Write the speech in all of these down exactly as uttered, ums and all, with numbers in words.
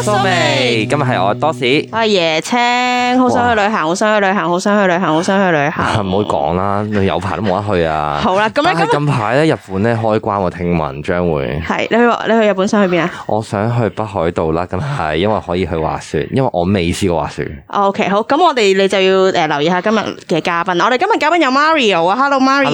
蘇眉，今日係我多士， 我係椰青，好想去旅行，好想去旅行，好想去旅行，好想去旅行。 唔好講啦，你有排都冇得去啊。 好啦，咁咧今排咧日本咧開關，我聽聞將會係你去你去日本想去邊啊？ 我想去北海道啦，咁係因為可以去滑雪，因為我未試過滑雪。 OK， 好，咁我哋你就要誒留意下今日嘅嘉賓。我哋今日嘉賓有 Mario 啊 ，Hello Mario，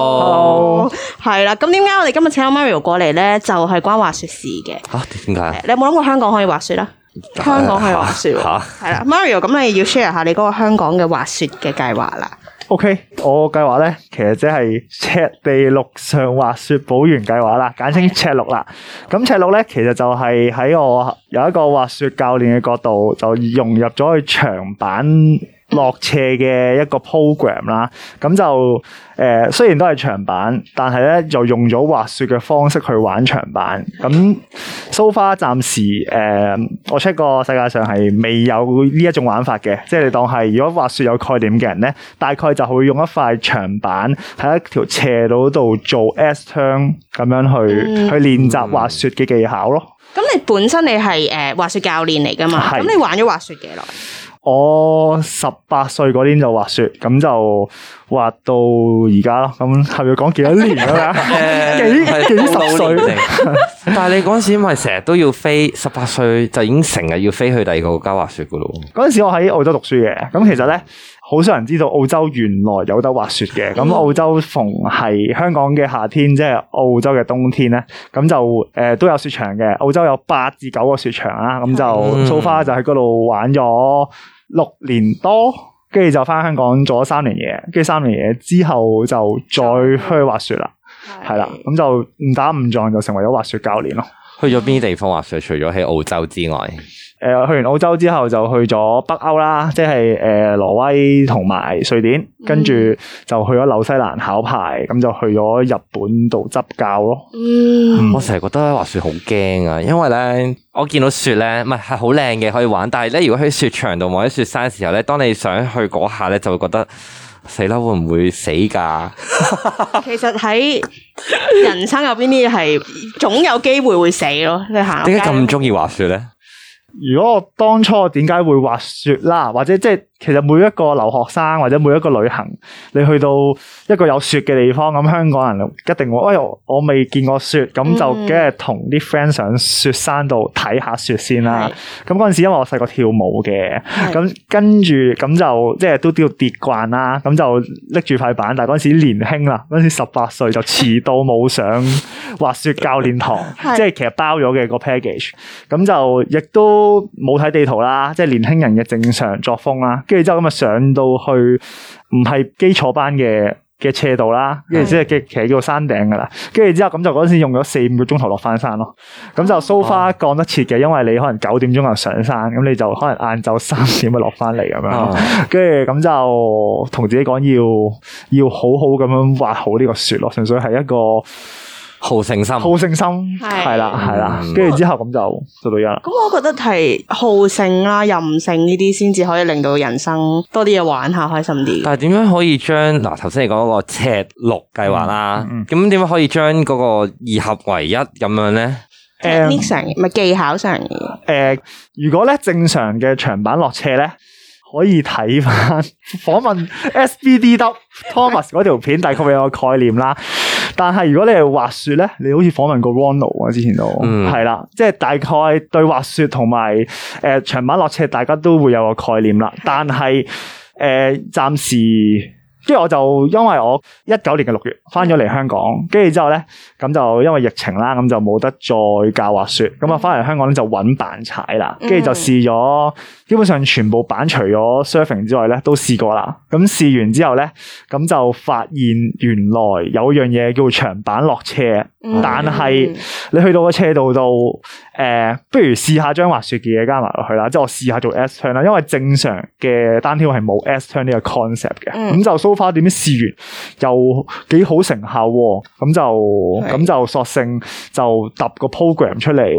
Hello， 係啦。咁點解我哋今日請到 Mario 過嚟咧？就係、是、關滑雪事嘅。吓、啊， 點解？ 你有冇諗過香港可以滑雪啦？香港可以滑雪喎。係啦 ，Mario，咁你要 share 下你嗰個香港嘅滑雪嘅計劃啦。 OK，我計劃咧，其實即係赤地陸上滑雪保原計劃啦，簡稱赤陸啦。咁赤陸咧，其實就係喺我有一個滑雪教練嘅角度，就融入咗去長板落斜嘅一個 program 啦。咁就誒、呃，雖然都係長板，但係咧就用咗滑雪嘅方式去玩長板。咁 so far 暫時誒、呃，我 check 過世界上係未有呢一種玩法嘅，即係你當係如果滑雪有概念嘅人咧，大概就會用一塊長板喺一條斜路度做 S turn 咁樣去、嗯、去練習滑雪嘅技巧咯。 咁你本身你係誒滑雪教練嚟噶嘛？咁你玩咗滑雪幾耐？ 我十八歲嗰年就滑雪，咁就滑到而家咯。咁係咪要講幾多年啊？幾幾十歲？ 但係你嗰陣時咪成日都要飛，十八歲就已經成日要飛去第二個國家滑雪噶咯。 嗰陣時我喺澳洲讀書嘅，咁其實咧好少人知道澳洲原來有得滑雪嘅。咁澳洲逢係香港嘅夏天，即係澳洲嘅冬天咧，咁就誒、呃、都有雪場嘅。澳洲有八至九個雪場啦，咁就 so far 就喺嗰度玩咗六年多，跟住就翻香港做咗三年嘢，跟住三年嘢之後就再去滑雪啦，係啦，咁就誤打誤撞就成為咗滑雪教練咯。 去咗邊啲地方滑雪？除咗喺澳洲之外？ 誒、呃，去完澳洲之後就去咗北歐啦，即係誒挪威同埋瑞典，跟住就去咗紐西蘭考牌，咁就去咗日本度執教咯。 嗯， 我成日覺得滑雪好驚啊，因為咧我見到雪咧，唔係係好靚嘅可以玩，但係咧如果喺雪場度或者雪山嘅時候咧，當你想去嗰下咧，就會覺得死啦，會唔會死噶？ 其實喺人生入邊啲嘢係總有機會會死咯。你行點解咁中意滑雪咧？ 如果我當初點解會滑雪啦，或者即係其實每一個留學生或者每一個旅行，你去到一個有雪嘅地方，咁香港人一定會，哎喲，我未見過雪，咁就梗係同啲 friend 上雪山度睇下雪先啦。咁嗰陣時因為我細個跳舞嘅，咁跟住咁就即係都都要跌慣啦，咁就拎住塊板，但係嗰陣時年輕啦，嗰陣時十八歲就遲到冇上滑雪教練堂，即係其實包咗嘅個 package，咁就亦都都冇睇地圖啦，即係年輕人嘅正常作風啦。跟住之後咁啊上到去唔係基礎班嘅嘅斜度啦，跟住即係嘅其實叫做山頂噶啦。跟住之後咁就嗰陣時用咗四五個鐘頭落翻山咯。咁就 so far 降得切嘅，因為你可能九點鐘就上山，咁你就可能晏晝三點就落翻嚟咁樣。跟住咁就同自己講要要好好咁樣滑好呢個雪咯，純粹係一個好勝心， 好勝心係啦係啦，跟住之後咁就做到一啦。 咁我覺得係好勝啦、任性呢啲先至可以令到人生多啲嘢玩下，開心啲。 但係點樣可以將嗱頭先你講嗰個赤陸計劃啦，咁點樣可以將嗰個二合為一咁樣咧？ 誒，technique上咪技巧上嘅。誒、 呃，如果咧正常嘅長板落斜咧，可以睇翻訪問 S B D W Thomas 嗰條片，大概會有個概念啦。但係如果你係滑雪咧，你好似訪問過 Ronald 啊，之前都係啦，即係大概對滑雪同埋誒長板落斜，大家都會有個概念啦。但係誒暫時。跟住我就因為我一九年嘅六月翻咗嚟香港，跟住之後咧咁就因為疫情啦，咁就冇得再教滑雪，咁啊翻嚟香港咧就揾板踩啦，跟住就試咗基本上全部板除咗 surfing 之外咧都試過啦。咁試完之後咧，咁就發現原來有樣嘢叫長板落斜，嗯、但係你去到個斜度度，誒、呃，不如試下將滑雪嘅嘢加埋落去啦，即係我試下做 S turn 啦，因為正常嘅單挑係冇 S turn 呢個 concept 嘅，咁、嗯、就 so far 點樣試完又幾好成效，咁就咁就索性就揼個 program 出嚟，喂，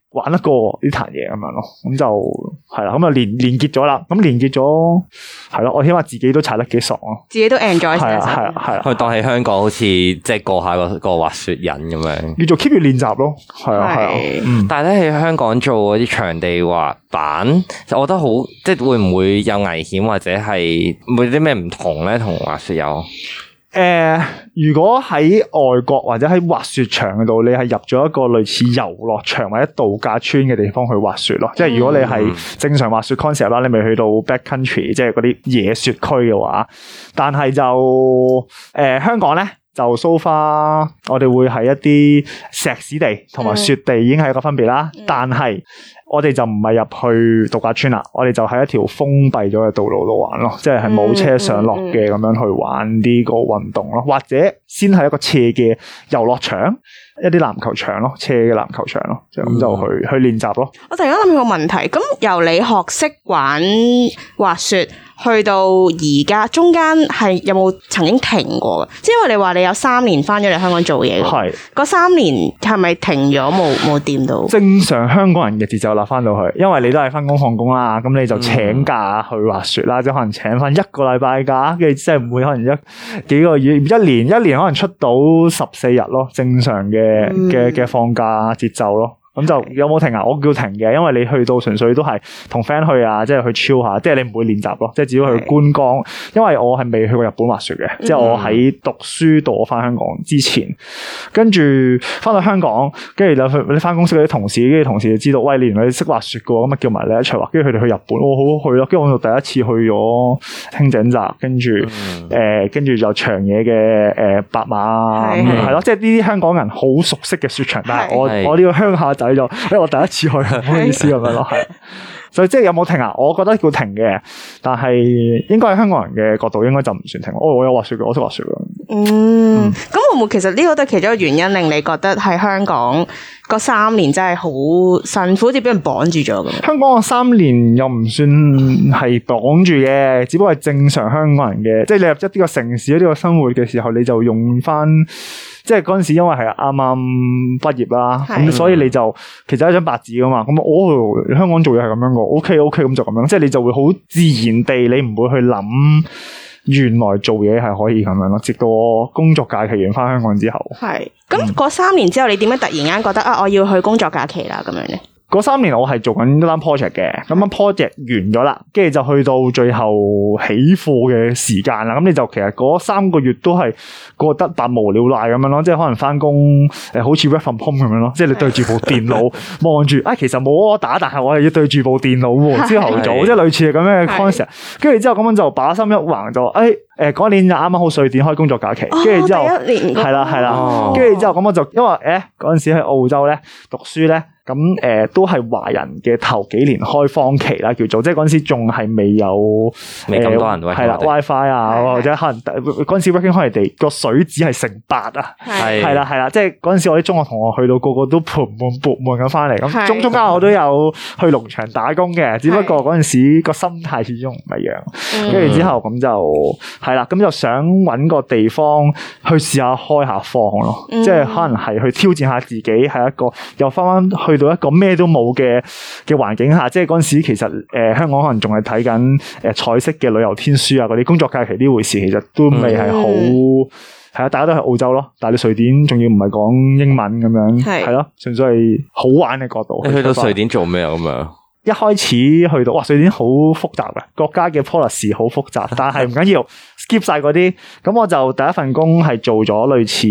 玩得過呢壇嘢咁樣咯，咁就係啦，咁啊連連結咗啦，咁連結咗係咯，我起碼自己都踩得幾爽咯， 自己都 enjoy 係啊係啊係啊， 可以當喺香港好似即係過下個個滑雪癮咁樣， 要做 keep 住練習咯，係啊係啊，嗯， 但係咧喺香港做嗰啲場地滑板，我覺得好即係會唔會有危險或者係會有啲咩唔同咧？同滑雪有？ 誒、呃，如果喺外國或者喺滑雪場嗰度，你係入咗一個類似遊樂場或者度假村嘅地方去滑雪咯。嗯、即係如果你係正常滑雪 concept 啦，你未去到 backcountry，即係嗰啲野雪區嘅話，但係就誒、呃、香港咧就 so far，我哋會係一啲石屎地同埋雪地已經係一個分別啦，嗯、但係。我哋就唔係入去度假村啦，我哋就喺一條封閉咗嘅道路度玩咯，即係係冇車上落嘅咁樣去玩呢個運動咯，或者先係一個斜嘅遊樂場，一啲籃球場咯，斜嘅籃球場咯，就咁就去、嗯、去練習咯。我突然間諗起個問題，咁由你學識玩滑雪去到而家，中間係有冇曾經停過嘅？即係因為你話你有三年翻咗嚟香港做嘢，係嗰三年係咪停咗冇冇掂到？ 正常香港人嘅節奏啦，翻到去，因為你都係翻工放工啦，咁你就請假去滑雪啦，嗯、即係可能請翻一個禮拜假，跟住即係唔會可能一幾個月、一年一年可能出到十四日咯，正常嘅嘅嘅放假節奏咯。咁就有冇停啊？我叫停嘅，因為你去到純粹都係同 friend 去啊，即係去 chill 下，即係你唔會練習咯，即係只要去觀光。因為我係未去過日本滑雪嘅，嗯、即係我喺讀書到我翻香港之前，跟住翻到香港，跟住就你翻公司嗰啲同事，跟住同事就知道，喂，你原來你識滑雪嘅，咁啊叫埋你一齊滑，跟住佢哋去日本，我好好去咯。跟住我就第一次去咗輕井澤，跟住誒，跟住就長野嘅誒白馬，係咯，即係呢啲香港人好熟悉嘅雪場，但係我我呢個鄉下仔就，因為我第一次去，唔好意思咁樣咯，係。所以即係有冇停啊？我覺得叫停嘅，但係應該喺香港人嘅角度，應該就唔算停。哦，我有滑雪嘅，我識滑雪嘅。 嗯，咁、嗯、會唔會其實呢個都係其中一個原因，令你覺得喺香港嗰三年真係好辛苦，好似俾人綁住咗咁？香港個三年又唔算係綁住嘅，只不過係正常香港人嘅，即係你入一啲個城市呢個生活嘅時候，你就用翻。即係嗰陣時，因為係啱啱畢業啦，咁的所以你就其實係一張白紙噶嘛。咁我、哦、香港做嘢係咁樣個 ，OK OK 咁就咁樣。即係你就會好自然地，你唔會去諗原來做嘢係可以咁樣咯。直到我工作假期完翻香港之後，係咁嗰三年之後，你點解突然間覺得啊，我要去工作假期啦咁樣咧？嗰三年我係做緊一單 project 嘅，咁樣 project 完咗啦，跟住就去到最後起貨嘅時間啦。咁你就其實嗰三個月都係過得百無聊賴咁樣咯，即係可能翻工誒，好似 work from home 咁樣咯，即係你對住部電腦望住，啊其實冇我打，但係我係要對住部電腦喎，朝頭早，即係類似係咁樣嘅 concept。跟住之後咁樣就把心一橫就，誒誒嗰年就啱啱好瑞典開工作假期，跟住之後係啦係啦，跟住之後咁我就因為誒嗰陣時喺澳洲咧讀書咧。咁誒、呃、都係華人嘅頭幾年開荒期啦，叫做即係嗰陣時仲係未有未咁多人係啦 WiFi 啊，的或者可能嗰陣時 working holiday 個水紙係成八啊，係係啦係啦，即係嗰陣時我啲中學同學去到個個都盆滿缽滿咁翻嚟，咁中中間我都有去農場打工嘅，只不過嗰陣時個心態始終唔一樣，跟住的之後咁就係啦，咁就想搵個地方去試下開下荒咯，嗯、即係可能係去挑戰下自己，係一個又翻翻去。到一個咩都冇嘅嘅環境下，即係嗰陣時其實誒、呃、香港可能仲係睇緊誒彩色嘅旅遊天書啊，嗰啲工作假期呢回事，其實都未係好係啊，大家都喺澳洲咯，但係你瑞典仲要唔係講英文咁樣，係咯是，純粹係好玩嘅角度。你去到瑞典做咩啊？咁樣一開始去到哇，瑞典好複雜嘅國家嘅 policy 好複雜，但係唔緊要，skip 晒嗰啲。咁我就第一份工係做咗類似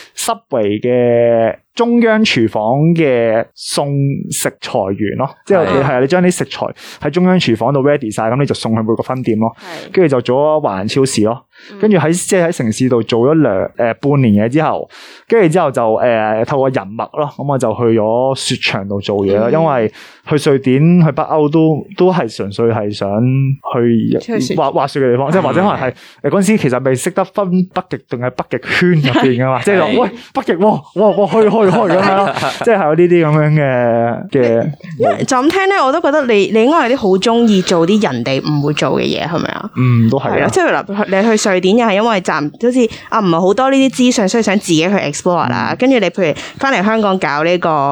Subway 嘅中央廚房嘅送食材員咯，即係係啊，你將啲食材喺中央廚房度 ready 晒，咁你就送去每個分店咯。跟住就做咗華人超市咯，跟住喺即係喺城市度做咗兩誒半年嘢之後，跟住之後就誒、呃、透過人脈咯，咁我就去咗雪場度做嘢啦。因為去瑞典去北歐都都係純粹係想去滑滑雪嘅地方，即係或者可能係誒嗰陣時其實未識得分北極定係北極圈入邊噶嘛，即係話喂北極，哇哇哇去去。開咁樣咯，即係有呢啲咁樣嘅嘅。因為就咁聽咧，我都覺得你你應該係啲好中意做啲人哋唔會做嘅嘢，係咪啊？嗯，都係啊。即係嗱，你去瑞典又係因為暫好似啊，唔係好多呢啲資訊，所以想自己去 explore 啦。跟住、嗯、你譬如翻嚟香港搞呢個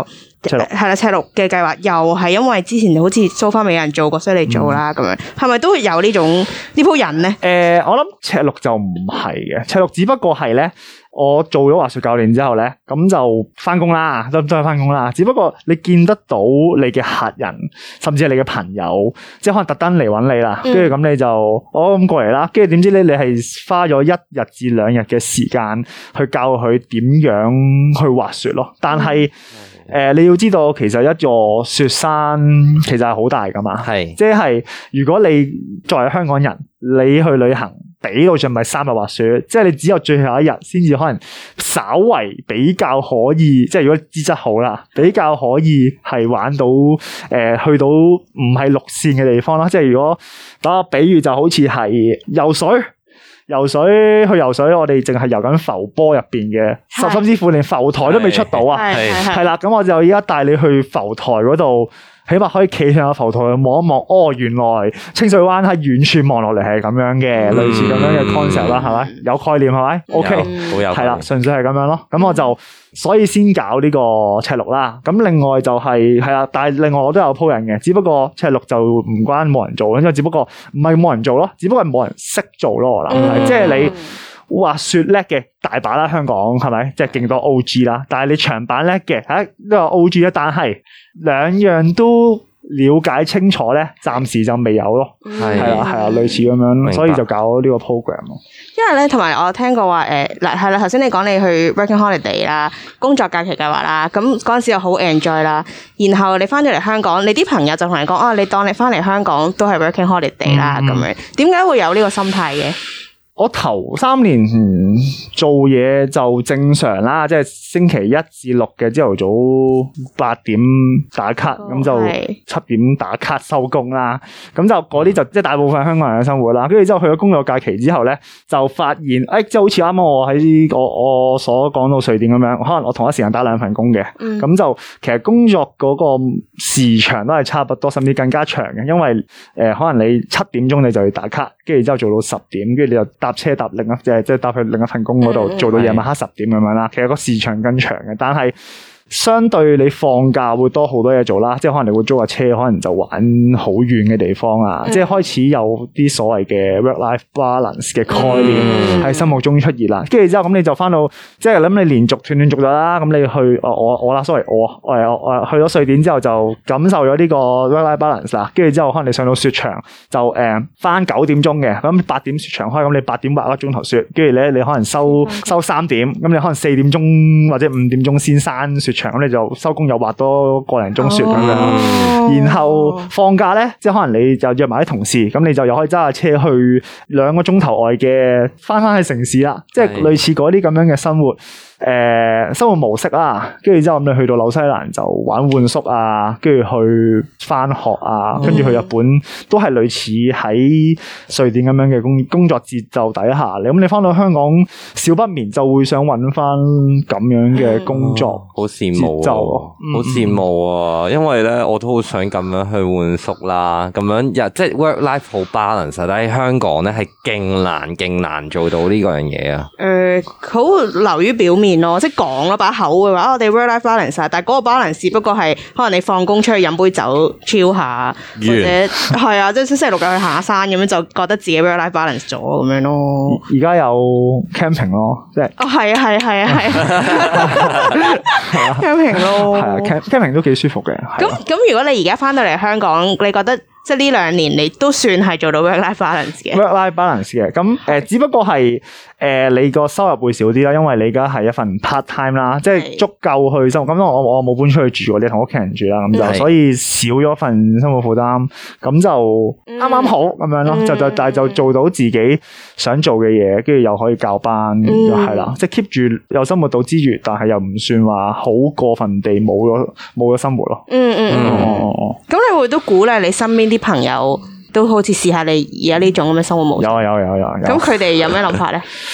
係啦，赤鹿嘅計劃又係因為之前好似蘇花未有人做過，所以你做啦咁、嗯、樣，係咪都會有呢種呢鋪人咧？誒、 呃，我諗赤鹿就唔係嘅，赤鹿只不過係咧。我做咗滑雪教練之後咧，咁就翻工啦，都都係翻工啦。只不過你見得到你嘅客人，甚至係你嘅朋友，即係可能特登嚟揾你啦，跟住咁你就我咁過嚟啦。跟住點知咧，你係花咗一日至兩日嘅時間去教佢點樣去滑雪咯。但係誒、呃，你要知道，其實一座雪山其實係好大噶嘛，係即係如果你作為香港人，你去旅行。俾到盡咪三日滑雪，即係你只有最後一日先至可能稍為比較可以，即係如果資質好啦，比較可以係玩到誒、呃、去到唔係陸線嘅地方啦。即係如果打個比喻就好似係游水，游水去游水，我哋淨係游緊浮波入邊嘅，甚至乎連浮台都未出到啊，係啦，咁我就而家帶你去浮台嗰度。起碼可以企上個浮台去望一望，哦，原來清水灣喺遠處望落嚟係咁樣嘅，嗯、類似咁樣嘅 concept 啦，係咪？有概念係咪 ？OK，好有，係啦，純粹係咁樣咯。咁我就所以先搞呢個赤鹿啦。咁另外就係係啦，但係另外我都有鋪人嘅，只不過赤鹿就唔關冇人做，因為只不過唔係冇人做咯，只不過係冇人識做咯。我諗係，即係你。滑雪叻嘅大把啦，香港係咪？即係勁多 O G 啦，但係你長板叻嘅，吓都有 O G 啦，但係兩樣都了解清楚咧，暫時就未有咯。係係啦係啊，類似咁樣，所以就搞呢個 program 咯。 因為咧，同埋我聽過話，誒嗱係啦，頭先你講你去 working holiday 啦，工作假期計劃啦，咁嗰陣時又好 enjoy 啦，然後你翻咗嚟香港，你啲朋友就同你講啊，你當你翻嚟香港都係 working holiday 啦，咁、嗯、樣，點解會有呢個心態嘅？ 我頭三年做嘢就正常啦，即係星期一至六嘅朝頭早八點打卡，咁、哦、就七點打卡收工啦。咁就嗰啲就即係大部分香港人嘅生活啦。跟住之後去咗工作假期之後咧，就發現誒、哎，即係好似啱啱我喺我我所講到瑞典咁樣，可能我同一時間打兩份工嘅，咁、嗯、就其實工作嗰個時長都係差不多，甚至更加長嘅，因為誒、呃、可能你七點鐘你就要打卡，跟住之後做到十點，跟住你就搭車搭另一即係即係搭去另一份工嗰度做到夜晚黑十點咁樣啦。其實個時長更長嘅，但係相對你放假會多好多嘢做啦。即係可能你會租架車，可能就玩好遠嘅地方啊。嗯、即係開始有啲所謂嘅 work-life balance 嘅概念喺心目中出現啦。跟住之後咁你就翻到即係諗你連續斷斷續續啦。咁你去我我我啦，sorry 我我我去咗瑞典之後就感受咗呢個 work-life balance 啦。跟住之後可能你上到雪場就誒翻九點鐘嘅，咁八點雪場開，咁你八點滑一個鐘頭雪，跟住咧你可能收收三點，咁你可能四點鐘或者五點鐘先閂雪場，咁你就收工又滑多個零鐘雪咁樣，哦、然後放假咧，即係可能你就約埋啲同事，咁你就又可以揸下車去兩個鐘頭外嘅翻翻去城市啦，即係類似嗰啲咁樣嘅生活。誒、呃，生活模式啦，跟住之後咁你去到紐西蘭就玩換宿啊，跟住去翻學啊，跟住去日本都係類似喺瑞典咁樣嘅工工作節奏底下，你咁你翻到香港少不免就會想揾翻咁樣嘅工作， 好羨慕，好羨慕啊！因為咧我都好想咁樣去換宿啦，咁樣又即係 work life 好 balance，但係喺香港咧係勁難勁難做到呢個樣嘢啊！誒、 呃，好流於表面。咯，即係講咯，把口嘅話，我哋 work-life balance，但係嗰個 balance 只不過係可能你放工出去飲杯酒 chill 下，yeah. 或者係啊，即係星期六日去行下山咁樣，就覺得自己 work-life balance 咗咁樣咯。 而家有 camping 咯，即係哦，係啊，係啊，係啊，係啊，camping 咯， 係啊，camping 都幾舒服嘅。 咁咁，如果你而家翻到嚟香港，你覺得？即係呢兩年你都算係做到 work-life balance 嘅 work-life balance 嘅，咁誒、呃、只不過係誒、呃、你個收入會少啲啦，因為你而家係一份 part time 啦，即係足夠去生活。咁我我冇搬出去住，你同屋企人住啦，咁就所以少咗份生活負擔，咁就啱啱好咁樣咯，嗯、就就但係就做到自己想做嘅嘢，跟住又可以教班，係、嗯、啦，即係 keep 住有生活到之餘，但係又唔算話好過分地冇咗冇咗生活咯。嗯嗯嗯。哦， 咁你會都鼓勵你身邊啲朋友都好似試下你而家呢種咁嘅生活模式。 有有有有。 咁佢哋有咩諗法咧？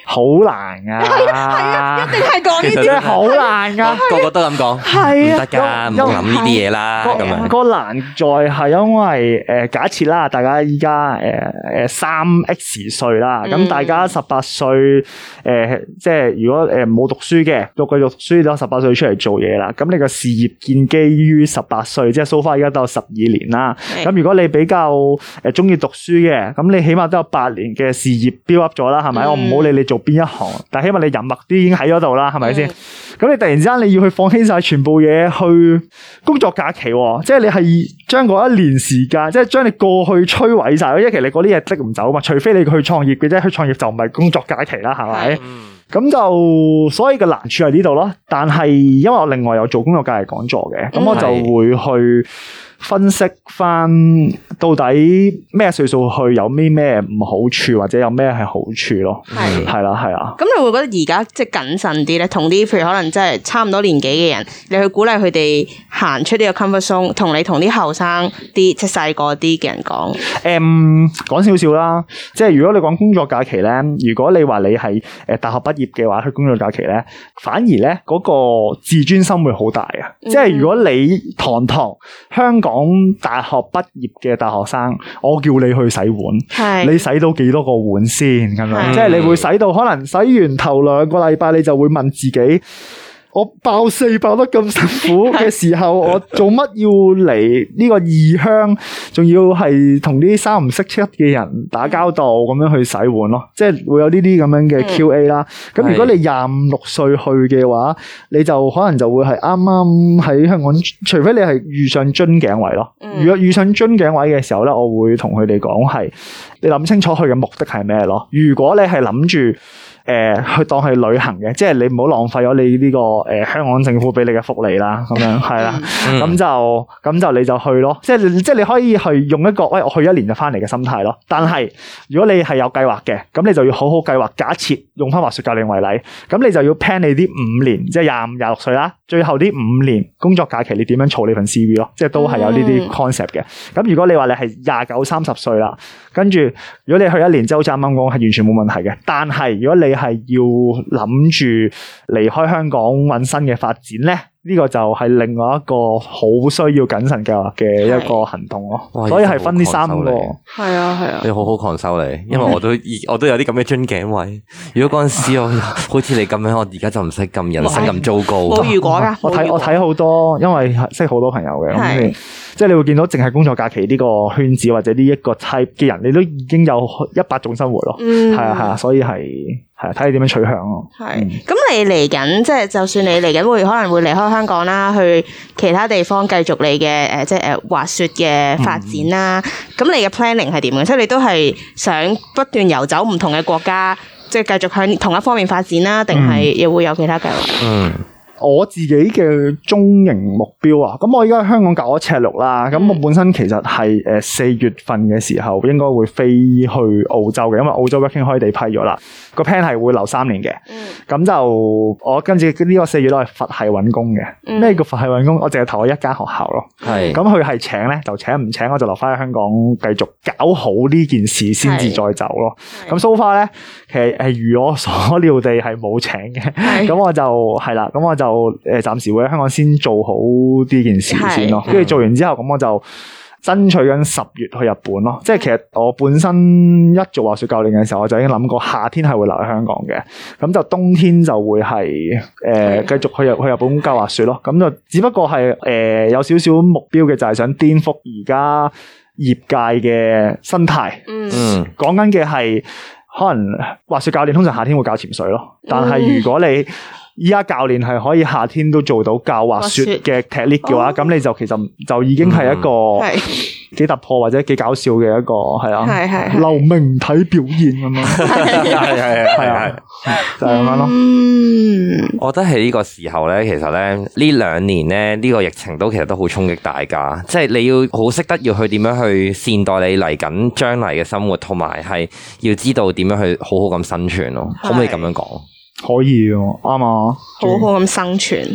好難噶， 係啊，一定係講呢啲， 真係好難噶， 個個都咁講， 係啊， 唔得噶，唔好諗呢啲嘢啦。咁樣個難在係因為誒，假設啦，大家依家誒誒三 X 歲啦，咁大家十八歲誒，即係如果誒冇讀書嘅，讀繼續讀書都十八歲出嚟做嘢啦，咁你個事業建基於十八歲，即係 so far 而家都有十二年啦。咁如果你比較誒中意讀書嘅，咁你起碼都有八年嘅事業 build up 咗啦，係咪？我唔好理你做邊一行，但係起碼你人脈都已經喺嗰度啦，係咪先？咁你突然之間你要去放棄晒全部嘢去工作假期，即係你係將嗰一年時間，即係將你過去摧毀晒。因為其實你嗰啲嘢積唔走嘛，除非你去創業嘅啫，去創業就唔係工作假期啦，係咪？咁、嗯、就所以嘅難處喺呢度咯。但係因為我另外有做工作假期講座嘅，咁、嗯、我就會去分析翻到底咩歲數去有咩咩唔好處，或者有咩係好處咯。係係啦係啊。咁你會覺得而家即係謹慎啲咧，同啲譬如可能真係差唔多年紀嘅人，你去鼓勵佢哋行出呢個 comfort zone， 同你同啲後生啲即係細個啲嘅人講。 誒，講少少啦，即係如果你講工作假期咧，如果你話你係誒大學畢業嘅話，去工作假期咧，反而咧嗰個自尊心會好大啊！嗯、即係如果你堂堂香港講大學畢業嘅大學生，我叫你去洗碗，你洗到幾多個碗先咁樣？即係你會洗到可能洗完頭兩個禮拜，你就會問自己。我爆四爆得咁辛苦嘅時候，我做乜要嚟呢個異鄉，仲要係同啲三唔識七嘅人打交道咁樣去洗碗咯？即係會有呢啲咁樣嘅 Q A 啦。咁、嗯、如果你廿五六歲去嘅話，你就可能就會係啱啱喺香港，除非你係遇上樽頸位咯。如果遇上樽頸位嘅時候咧，我會同佢哋講係，你諗清楚佢嘅目的係咩咯？如果你係諗住。誒、呃，去當係旅行嘅，即係你唔好浪費咗你呢、這個誒、呃、香港政府俾你嘅福利啦，咁樣係啦，咁、嗯、就咁就你就去咯，即係即係你可以去用一個，喂，我去一年就翻嚟嘅心態咯。但係如果你係有計劃嘅，咁你就要好好計劃。假設用翻滑雪教練為例，咁你就要 plan 你啲五年，即係廿五、廿六歲啦，最後啲五年工作假期，你點樣儲你份 C V 咯？即係都係有呢啲 concept 嘅。咁、嗯、如果你話你係廿九、三十歲啦，跟住如果你去一年之後，好似啱啱講係完全冇問題嘅。但係如果你係要諗住離開香港揾新嘅發展咧，呢、這個就係另外一個好需要謹慎計劃嘅一個行動咯。所以係分呢三個。係啊係啊， 你好好抗收你，因為我都我都有啲咁嘅樽頸位。如果嗰陣時我好似你咁樣，我而家就唔使咁人生咁糟糕。 冇如果噶， 我睇我睇好多，因為識好多朋友嘅，咁你即係你會見到淨係工作假期呢個圈子或者呢一個 type 嘅人，你都已經有一百種生活咯。係啊係啊，所以係。係睇你點樣取向咯。係， 咁你嚟緊即係就算你嚟緊會可能會離開香港啦，去其他地方繼續你嘅誒即係誒滑雪嘅發展啦。咁、嗯、你嘅 planning 係點嘅？即係你都係想不斷遊走唔同嘅國家，即係繼續向同一方面發展啦，定係又會有其他計劃？嗯。 我自己嘅中型目標啊，咁我而家喺香港搞咗赤鹿啦，咁、嗯、我本身其實係誒四月份嘅時候應該會飛去澳洲嘅，因為澳洲 working holiday 批咗啦，個 plan 係會留三年嘅，咁、嗯、就我跟住呢個四月都係佛系揾工嘅。咩、嗯、叫佛系揾工？我淨係投咗一間學校咯，係咁佢係請咧就請，唔請我就留翻喺香港繼續搞好呢件事先至再走咯。咁 so far 咧，其實係如我所料地係冇請嘅，咁我就係啦，咁我就。就誒，暫時會喺香港先做好呢件事先咯，跟住做完之後，咁我就爭取緊十月去日本咯。即係其實我本身一做滑雪教練嘅時候，我就已經諗過夏天係會留喺香港嘅，咁就冬天就會係誒繼續去日去日本教滑雪咯。咁就只不過係誒、呃、有少少目標嘅，就係想顛覆而家業界嘅生態。嗯，講緊嘅係可能滑雪教練通常夏天會教潛水咯，但係如果你依家教練係可以夏天都做到教滑雪嘅 technique 嘅話，咁、哦、你就其實就已經係一個幾突破或者幾搞笑嘅一個係啊，係係流明體表現咁樣，係係係係就係咁樣咯。 嗯，我覺得喺呢個時候咧，其實咧呢兩年咧呢、這個疫情都其實都好衝擊大家，即係你要好識得要去點樣去善待你嚟緊將來嘅生活，同埋係要知道點樣去好好咁生存咯。可唔可以咁樣講？ 可以喎，啱啊！ 好好咁生存，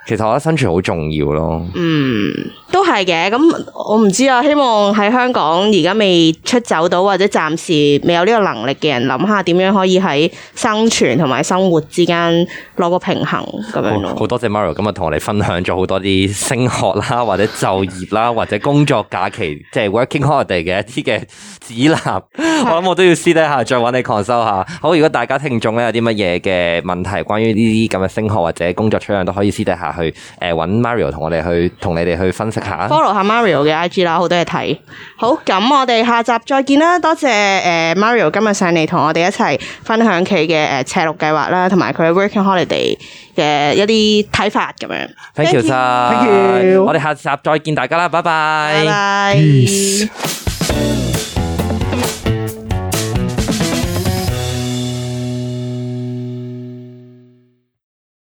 其實我覺得生存好重要咯。 嗯，都係嘅。咁我唔知啊，希望喺香港而家未出走到或者暫時未有呢個能力嘅人，諗下點樣可以喺生存同埋生活之間攞個平衡咁樣咯。 好多謝 Mario 今日同我哋分享咗好多啲升學啦，或者就業啦，或者工作假期即係 working holiday 嘅一啲嘅指南。我諗我都要私底下再揾你 consult 下。好，如果大家聽眾咧有啲乜嘢嘅問題，關於呢啲咁嘅升學或者工作取向，都可以私底下去誒揾 Mario 同我哋去同你哋去分析下。Follow 下 Mario 嘅 I G 啦，好多嘢睇。好，咁我哋下集再見啦。多謝誒 Mario 今日上嚟同我哋一齊分享佢嘅誒赤鹿計劃啦，同埋佢 working holiday 嘅一啲睇法咁樣。 Thank you 晒，我哋下集再見大家啦，拜拜。 拜拜。